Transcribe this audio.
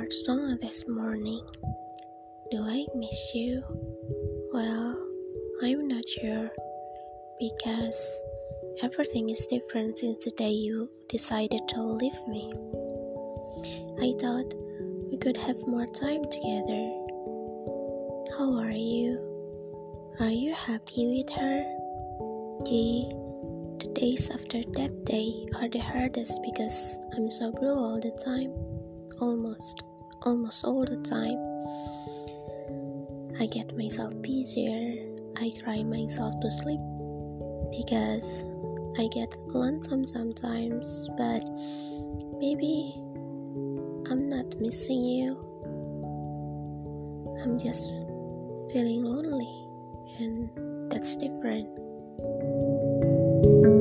favorite song this morning. Do I miss you? Well, I'm not sure because everything is different since the day you decided to leave me. I thought we could have more time together. How are you? Are you happy with her? The days after that day are the hardest because I'm so blue all the time. Almost all the time. I get myself busier. I cry myself to sleep because I get lonesome sometimes, but maybe I'm not missing you. I'm just feeling lonely, and that's different.